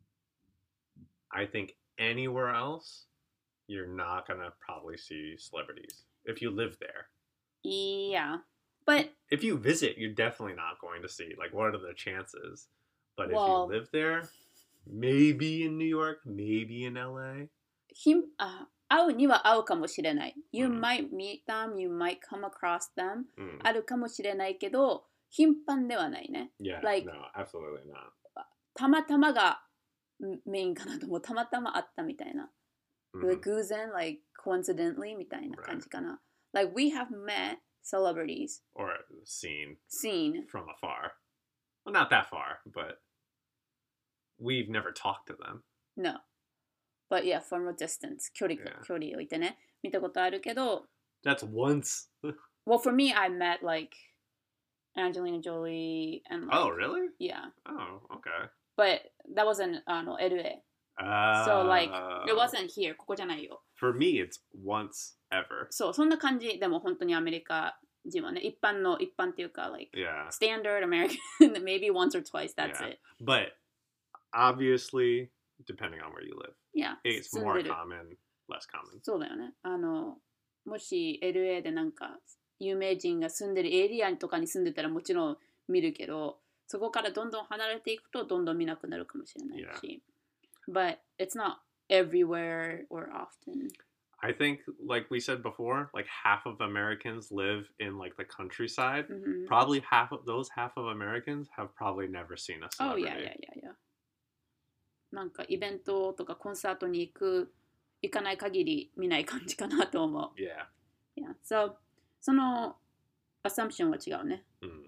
S2: I think anywhere else, you're not gonna probably see celebrities if you live there.
S1: Yeah. But
S2: If you visit, you're definitely not going to see. Like, what are the chances? But
S1: Well-
S2: if you live there, maybe in New York, maybe in L A.
S1: ひんあ会うには会うかもしれない。You
S2: うん
S1: might meet them, you might come across them.
S2: Mm.
S1: あるかもしれないけど、頻繁ではないね。
S2: Yeah,
S1: Like-
S2: no, absolutely not.
S1: たまたまがんメインかなと思う。たまたま会ったみたいな。
S2: Mhm.
S1: 偶然、like coincidentally みたいな感じかな。Like we have met celebrities,
S2: Or seen
S1: seen.
S2: from afar. Well, not that far, but we've never talked to them.
S1: No. But yeah, from a distance. 距離,
S2: Yeah.
S1: 距離を置いてね。見たことあるけど、
S2: That's once.
S1: well, for me, I met like Angelina Jolie and like,
S2: Oh, really?
S1: yeah.
S2: Oh, okay.
S1: But that wasn't あの L A.
S2: Uh,
S1: So like, it wasn't here. ここじゃないよ。
S2: For me, it's once ever.
S1: そう、そんな感じ。でも本当にアメリカ人はね、一般の、一般っていうか、like,
S2: Yeah.
S1: standard American, maybe once or twice, that's
S2: Yeah.
S1: it.
S2: But obviously, depending on where you live,
S1: Yeah.
S2: it's
S1: 住ん
S2: more
S1: でる。
S2: common, less common.
S1: そうだよね。あの、もし L A でなんか有名人が住んでるエリアとかに住んでたらもちろん見るけど、そこからどんどん離れていくとどんどん見なくなるかもしれないし。But it's not everywhere or often.
S2: I think, like we said before, like half of Americans live in like the countryside.
S1: Mhm.
S2: Probably half of those half of Americans have probably never seen a
S1: Oh,
S2: celebrity.
S1: yeah, yeah, yeah, yeah. なんかイベントとかコンサートに行く行かない限り見ない感じかなと思う。
S2: Yeah.
S1: Yeah. So その assumption は違うね。
S2: Mm.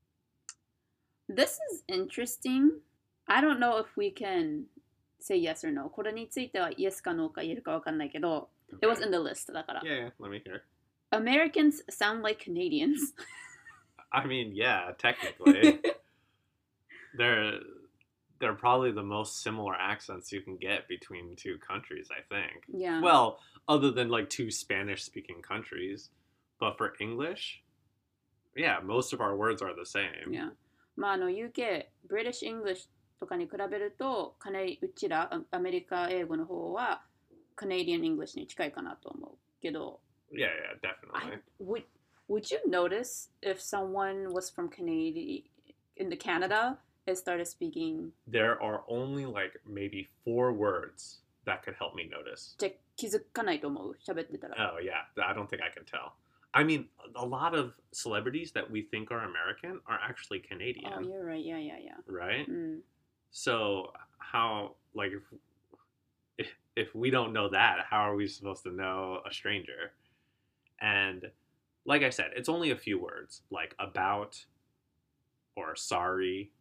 S1: This is interesting. I don't know if we can say yes or no. これについては yes か no か言えるかわかんないけど、It was
S2: Okay.
S1: in the list だから。
S2: Yeah, yeah, let me hear.
S1: Americans sound like Canadians.
S2: I mean, yeah, technically. they're they're probably the most similar accents you can get between two countries, I think.
S1: Yeah.
S2: Well, other than like two Spanish speaking countries. But for English, yeah, most of our words are the same.
S1: Yeah. まああの ユーケー、British English とかに比べると、カネうちらアアメリカ英語の方は Canadian English に近いかなと思うけど、
S2: Yeah, yeah, definitely.
S1: I, would would you notice if someone was from Canada in the Canada and started speaking?
S2: There are only like maybe four words that could help me notice.
S1: じゃ気づかないと思う喋ってたら。
S2: Oh, yeah, I don't think I can tell. I mean, a lot of celebrities that we think are American are actually Canadian,
S1: Oh, you're right. Yeah, yeah, yeah.
S2: right?
S1: うん。
S2: So how, like, if, if if we don't know that, how are we supposed to know a stranger? And like I said, it's only a few words, like about or sorry.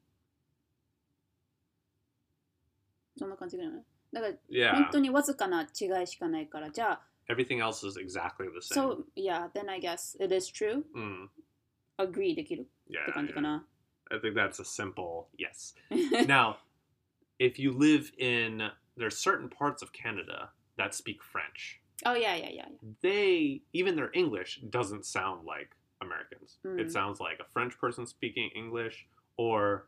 S1: そんな感じぐらいね。だから、
S2: Yeah,
S1: 本当にわずかな違いしかないから、じゃあ、
S2: everything else is exactly the same.
S1: So, yeah, then I guess it is true.
S2: Mm,
S1: Agree できる
S2: yeah,
S1: って感じか
S2: yeah.
S1: な。
S2: I think that's a simple yes. Now, if you live in, there's certain parts of Canada that speak French.
S1: Oh, yeah, yeah, yeah.
S2: They, even their English doesn't sound like Americans.
S1: Mm.
S2: It sounds like a French person speaking English, or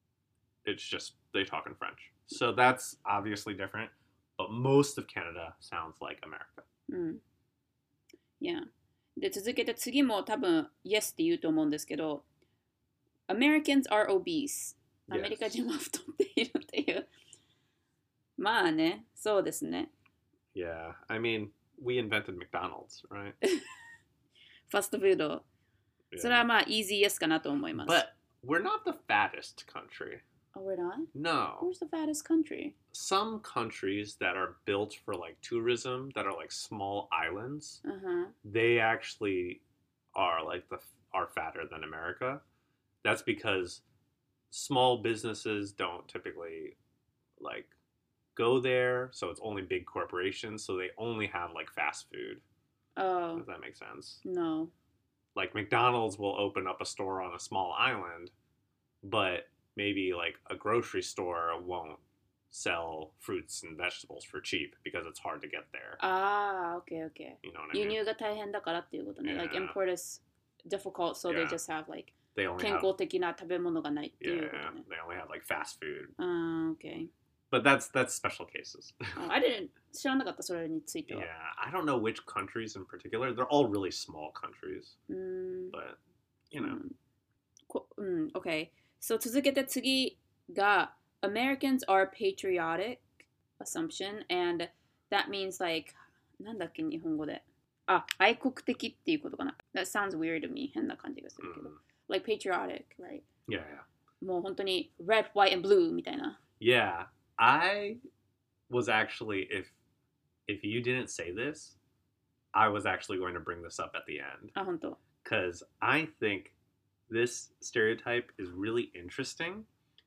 S2: it's just they talk in French. So that's obviously different, but most of Canada sounds like America.
S1: うん。Yeah. で、続けて次も多分 Yes って言うと思うんですけど、Americans are obese. アメリカ人は太っているっていう。まあね、そうですね。
S2: Yeah, I mean, we invented McDonald's, right?
S1: ファストフード。
S2: Yeah.
S1: それはまあ easy yes かなと思います。
S2: But we're not the fattest country.
S1: Oh, we're not?
S2: No.
S1: Where's the fattest country?
S2: Some countries that are built for like tourism, that are like small islands,
S1: Uh-huh.
S2: they actually are like the are fatter than America. That's because small businesses don't typically like go there, so it's only big corporations, so they only have like fast food.
S1: Oh,
S2: Does that make sense?
S1: no.
S2: Like McDonald's will open up a store on a small island, but maybe like a grocery store won't sell fruits and vegetables for cheap because it's hard to get there.
S1: ああ、OK, OK.
S2: You know what I
S1: 輸
S2: mean?
S1: 入が大変だからっていうことね。Like
S2: Yeah.
S1: import is difficult, so they
S2: Yeah.
S1: just have like
S2: They only
S1: 健
S2: have
S1: 康的な食べ物がないっていうこ
S2: yeah,
S1: とね。
S2: they only have like fast food.
S1: ああ、OK.
S2: But that's that's special cases.
S1: Oh, I didn't 知らなかった、それについて
S2: Yeah,
S1: は。
S2: I don't know which countries in particular. They're all really small countries,
S1: うーん。
S2: but you know.
S1: こうん、OK. So 続けて次が Americans are patriotic assumption and that means like なんだっけ日本語で。あ、愛国的っていうことかな。That sounds weird to me. 変な感じがするけど。
S2: Mm,
S1: Like patriotic, right?
S2: yeah, yeah.
S1: もう本当に red, white, and blue みたいな。
S2: Yeah, I was actually if if you didn't say this, I was actually going to bring this up at the end
S1: あ、本当。
S2: because I think this stereotype is really interesting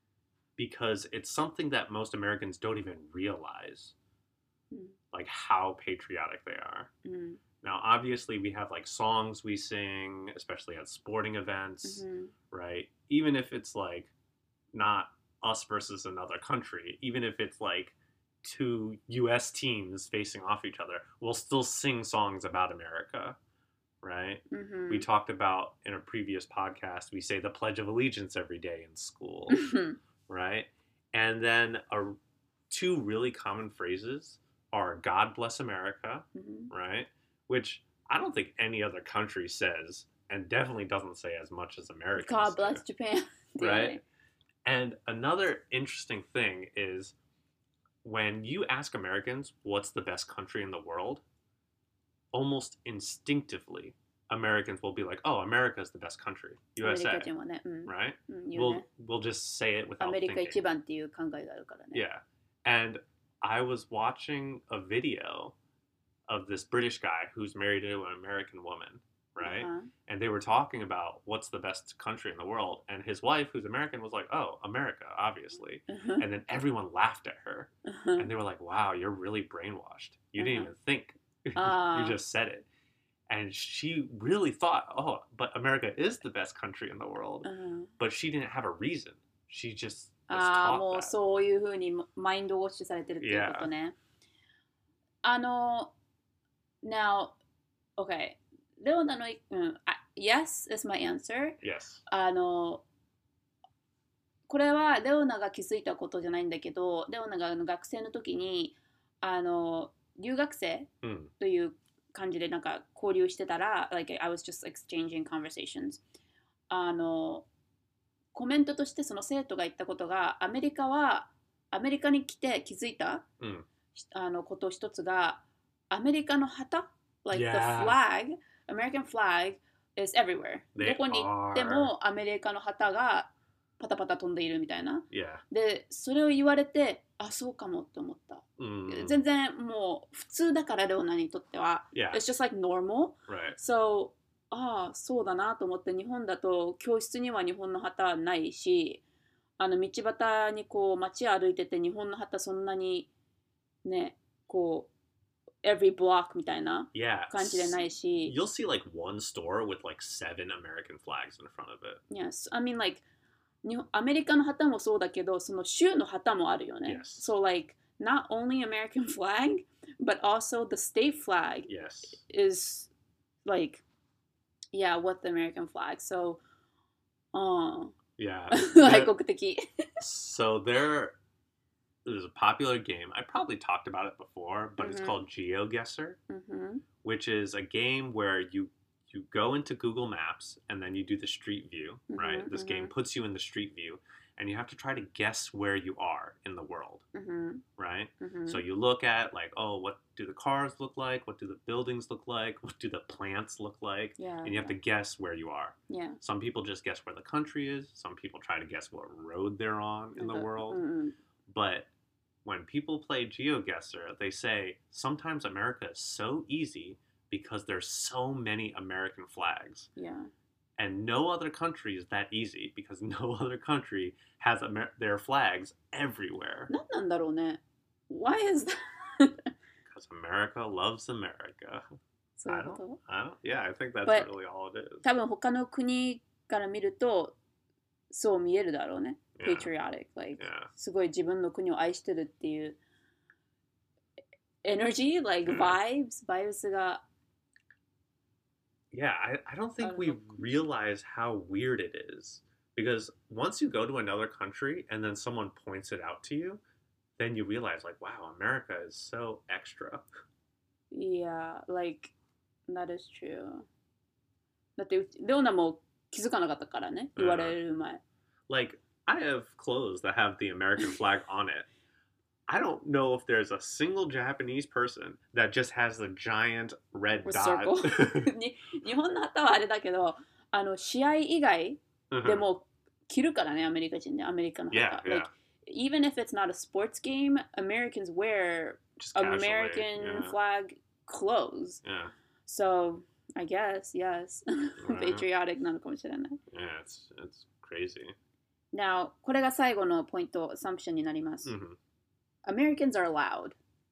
S2: because it's something that most Americans don't even realize,
S1: Mm.
S2: like how patriotic they are.
S1: うん。
S2: Now, obviously, we have like songs we sing, especially at sporting events,
S1: うん。
S2: right? Even if it's like not us versus another country, even if it's like two U S teams facing off each other, we'll still sing songs about America, right?
S1: うん。
S2: We talked about in a previous podcast, we say the Pledge of Allegiance every day in school,
S1: うん。
S2: right? And then a, two really common phrases are God bless America,
S1: うん。
S2: right? Which I don't think any other country says, and definitely doesn't say as much as Americans
S1: God
S2: do.
S1: bless Japan. っていうね
S2: Right. And another interesting thing is when you ask Americans what's the best country in the world, almost instinctively, Americans will be like, "Oh, America is the best country,
S1: アメリ
S2: U S A,"
S1: カ人はね。うん。
S2: right?
S1: うん、言う
S2: We'll
S1: ね。
S2: we'll just say it
S1: ア
S2: without
S1: メリカ
S2: thinking.
S1: 一番っていう考えがあるからね。
S2: Yeah. And I was watching a video of this British guy who's married to an American woman, right?
S1: Uh-huh.
S2: And they were talking about what's the best country in the world. And his wife, who's American, was like, oh, America, obviously.
S1: Uh-huh.
S2: And then everyone laughed at her.
S1: Uh-huh.
S2: And they were like, wow, you're really brainwashed. You didn't
S1: Uh-huh.
S2: even think.
S1: Ah.
S2: You just said it. And she really thought, oh, but America is the best country in the world.
S1: Uh-huh.
S2: But she didn't have a reason. She just was
S1: ああ、
S2: taught
S1: もう
S2: that.
S1: そういうふうにマインドウォッシュされてるっていうことね。あの、now, okay. レオナの、うん、あ yes is my answer.
S2: Yes.
S1: あの、これはレオナが気づいたことじゃないんだけど、レオナがあの学生の時に、あの、留学生
S2: うん。
S1: という感じでなんか交流してたら、like I was just exchanging conversations. あの、コメントとしてその生徒が言ったことが、アメリカは、アメリカに来て気づいた、
S2: うん。
S1: あのこと一つが、アメリカの旗 like the
S2: Yeah.
S1: flag, American flag is everywhere.
S2: They
S1: どこに行ってもアメリカの旗がパタパタ飛んでいるみたいな。
S2: Yeah.
S1: で、それを言われて、あ、そうかもって思った。
S2: Mm.
S1: 全然もう普通だからレオナにとっては。
S2: Yeah.
S1: It's just like normal.
S2: Right.
S1: So, ああ、そうだなと思って日本だと教室には日本の旗ないし、あの道端にこう街歩いてて日本の旗そんなにね、こう every block みたいな
S2: Yeah.
S1: 感じでないし。
S2: You'll see like one store with like seven American flags in front of it.
S1: Yes, I mean like 日本アメリカの旗もそうだけど、その州の旗もあるよね。
S2: Yes.
S1: So like not only American flag, but also the state flag
S2: Yes.
S1: is like yeah, with the American flag. So, うん、
S2: Yeah.
S1: 外
S2: There-
S1: 国的。
S2: so there is a popular game. I probably talked about it before, but it's
S1: Mhm.
S2: called GeoGuessr,
S1: うん
S2: which is a game where you you go into Google Maps and then you do the street view, right?
S1: Mhm,
S2: This game
S1: mhm.
S2: puts you in the street view and you have to try to guess where you are in the world,
S1: うん、
S2: right?
S1: うん、
S2: So you look at like, oh, what do the cars look like? What do the buildings look like? What do the plants look like?
S1: yeah,
S2: And you have to guess where you are.
S1: yeah.
S2: Some people just guess where the country is. Some people try to guess what road they're on in the
S1: なんか
S2: world.
S1: うんうん
S2: But when people play GeoGuessr, they say sometimes America is so easy because there's so many American flags.
S1: yeah.
S2: And no other country is that easy because no other country has Amer- their flags everywhere.
S1: 何なんだろうね。Why is that?
S2: Because America loves America.
S1: そうい
S2: I
S1: うこ
S2: don't,
S1: と
S2: I don't, yeah, I think that's
S1: But-
S2: really all it is.
S1: 多分他の国から見るとそう見えるだろうね。
S2: Yeah.
S1: Patriotic, like
S2: Yeah.
S1: すごい自分の国を愛してるっていう energy, like
S2: うん
S1: vibes, vibes が
S2: Yeah, I, I don't think
S1: don't
S2: we
S1: know.
S2: realize how weird it is. Because once you go to another country and then someone points it out to you, then you realize, like, wow, America is so extra.
S1: Yeah, like that is true. だってレオナも気づかなかったからね、言われる前。
S2: Like, I have clothes that have the American flag on it. I don't know if there's a single Japanese person that just has the giant red
S1: With
S2: dot.
S1: circle. に日本の旗はあれだけど、あの試合以外
S2: Mhm.
S1: でも着るからね、アメリカ人で、アメリカの旗。
S2: Yeah, yeah.
S1: Like, even if it's not a sports game, Americans wear
S2: Just casually,
S1: American
S2: yeah.
S1: flag clothes.
S2: Yeah,
S1: So, I guess, yes.
S2: Right.
S1: Patriotic なのかもしれない。
S2: yeah, it's it's crazy.
S1: Now, これが最後のポイント、assumption になります。
S2: Mhm.
S1: Americans are loud.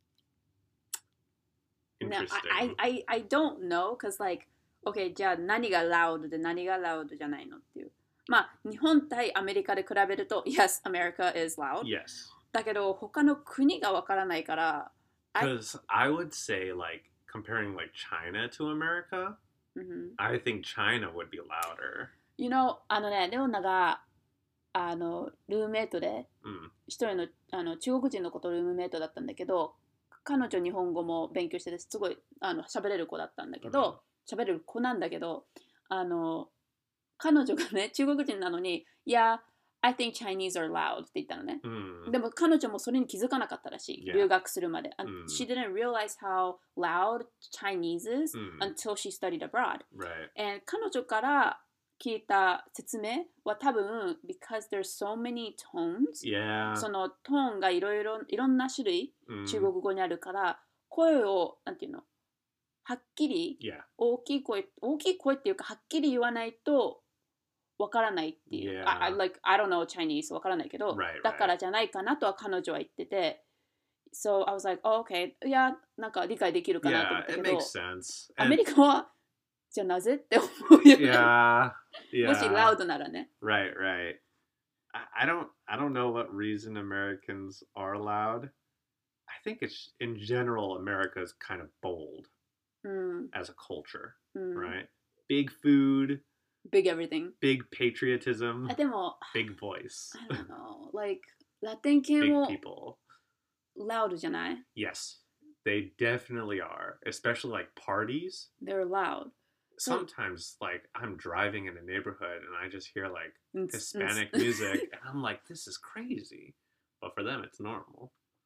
S1: Now,
S2: Interesting.
S1: I, I, I don't know, because like, okay, じゃあ何が loud で何が loud じゃないのっていう。まあ、日本対アメリカで比べると、yes, America is loud.
S2: Yes.
S1: だけど、他の国がわからないから、I-
S2: Because I would say, like, comparing like China to America,
S1: うん
S2: I think China would be louder.
S1: You know, あのね、レオナが、あの、ルームメイトで、
S2: Mm.
S1: 一人のあの中国人の子とルームメイトだったんだけど、彼女日本語も勉強しててすごいあの喋れる子だったんだけど、喋れる子なんだけど、あの彼女がね中国人なのに、いや、I think Chinese are loud って言ったのね。
S2: Mm.
S1: でも彼女もそれに気づかなかったらしい。
S2: Yeah.
S1: 留学するまで。And
S2: うん
S1: She didn't realize how loud Chinese is
S2: Mm.
S1: until she studied abroad.
S2: Right.
S1: And 彼女から聞いた説明は多分 because there's so many tones
S2: Yeah.
S1: そのトーンがいろいろいろんな種類
S2: Mm.
S1: 中国語にあるから声をなんていうのはっきり
S2: Yeah.
S1: 大きい声大きい声っていうかはっきり言わないとわからないっていう、
S2: Yeah.
S1: I, I, like, I don't know Chinese わからないけど、
S2: Right,
S1: だからじゃないかなとは彼女は言ってて So I was like, oh, okay いやなんか理解できるかなと思っ
S2: Yeah,
S1: た
S2: it
S1: けど
S2: makes sense.
S1: ア
S2: And
S1: メリカはじゃあなぜって思うよね
S2: yeah,
S1: もし
S2: yeah.
S1: ラウドならね
S2: Right, right. I, I don't I don't know what reason Americans are loud. I think it's in general America is kind of bold
S1: うん
S2: as a culture,
S1: うん
S2: right? Big food,
S1: Big everything
S2: big patriotism,
S1: あでも
S2: big voice,
S1: I don't know like ラテン系
S2: big
S1: も
S2: people.
S1: ラウドじゃない
S2: Yes, they definitely are, especially like parties.
S1: They're loud
S2: Sometimes like I'm driving in a neighborhood and I just hear like
S1: うん
S2: Hispanic
S1: うん
S2: music and I'm like, this is crazy. But for them, it's normal.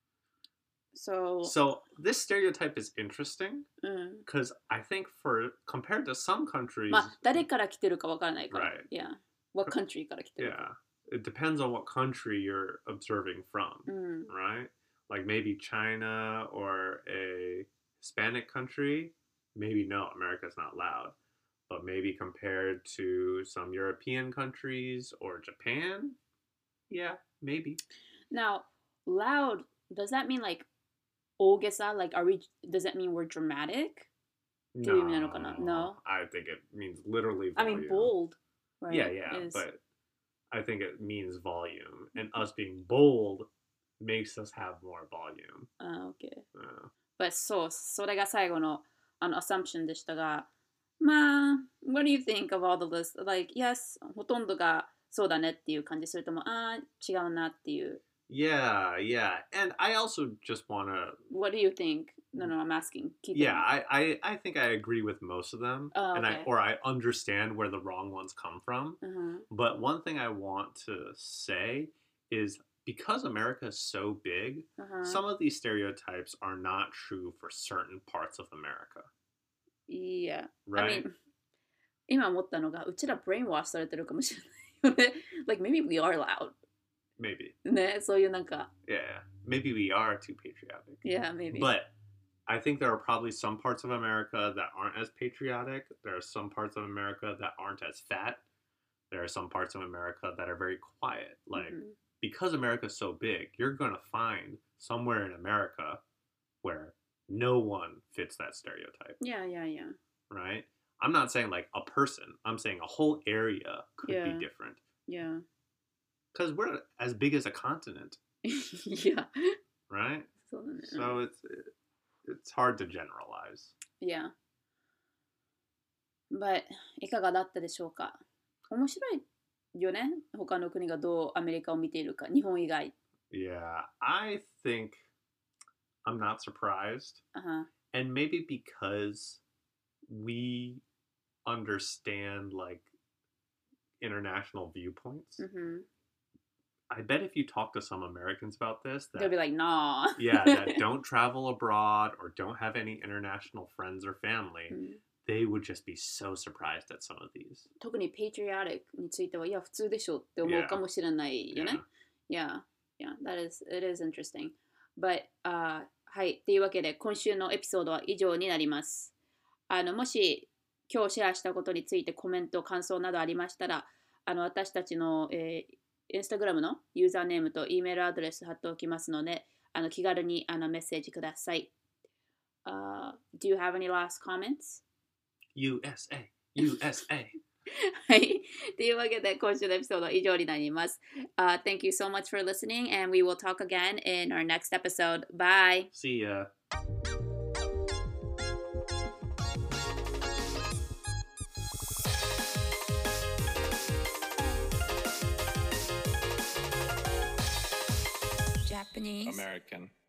S1: So
S2: So this stereotype is interesting
S1: うん
S2: because I think for compared to some countries,
S1: まあ誰から来てるかわからないから
S2: Right.
S1: Yeah What country から来てる
S2: yeah,
S1: か
S2: it depends on what country you're observing from,
S1: うん
S2: right? Like maybe China or a Hispanic country, maybe no, America's not loud. But maybe compared to some European countries or Japan, yeah, maybe.
S1: Now loud does that mean like 大げさ like are we does that mean we're dramatic Do you mean no? No?
S2: I think it means literally
S1: I
S2: volume.
S1: mean bold right
S2: Yeah, yeah,
S1: is-
S2: but I think it means volume. And us being bold makes us have more volume.
S1: あ OK
S2: Uh,
S1: But そうそれが最後のあの assumption でしたがまあ What do you think of all the list? Like yes ほとんどがそうだねっていう感じそれともあー違うなっていう
S2: yeah, yeah. And I also just want to
S1: What do you think? No, no, I'm asking. 聞いてる
S2: Yeah, I, I, I think I agree with most of them.
S1: Oh,
S2: and I
S1: okay.
S2: or I understand where the wrong ones come from.
S1: うん
S2: But one thing I want to say is because America is so big,
S1: うん
S2: some of these stereotypes are not true for certain parts of America.
S1: いや
S2: Right?
S1: I mean 今思ったのがうちらブレインワッシュされてるかもしれないよね Like maybe we are loud
S2: Maybe.
S1: ねそういうなんか
S2: Yeah. Maybe we are too patriotic.
S1: Yeah maybe
S2: But I think there are probably some parts of America that aren't as patriotic. There are some parts of America that aren't as fat. There are some parts of America that are very quiet. Like,
S1: うん
S2: because America's so big, you're going to find somewhere in America where no one fits that stereotype,
S1: Yeah yeah yeah
S2: right? I'm not saying like a person. I'm saying a whole area could
S1: Yeah.
S2: be different.
S1: Yeah
S2: Because we're as big as a continent,
S1: いや
S2: right?
S1: そうだね
S2: So it's it's hard to generalize.
S1: Yeah But いかがだったでしょうか面白いよね他の国がどうアメリカを見ているか日本以外
S2: Yeah, I think I'm not surprised.
S1: あは
S2: And maybe because we understand like international viewpoints.
S1: うん
S2: I bet if you talk to some Americans about this,
S1: They'll
S2: that
S1: be like nah
S2: yeah, that don't travel abroad or don't have any international friends or family,
S1: うん
S2: they would just be so surprised at some of these.
S1: 特に patriotic についてはいや普通でしょって思うかもしれないよね。Yeah, yeah, that is, it is interesting. But, uh, はい、というわけで今週のエピソードは以上になります。あのもし今日シェアしたことについてコメント、感想などありましたら、あの私たちの、えー、インスタグラムのユーザーネームと E メールアドレス貼っておきますので、あの気軽にあのメッセージください。Uh, do you have any last comments?
S2: U S A, U S A.
S1: はい。というわけで、今週のエピソードは以上になります。Uh, thank you so much for listening, and we will talk again in our next episode. Bye!
S2: See ya.
S3: Japanese.
S4: American.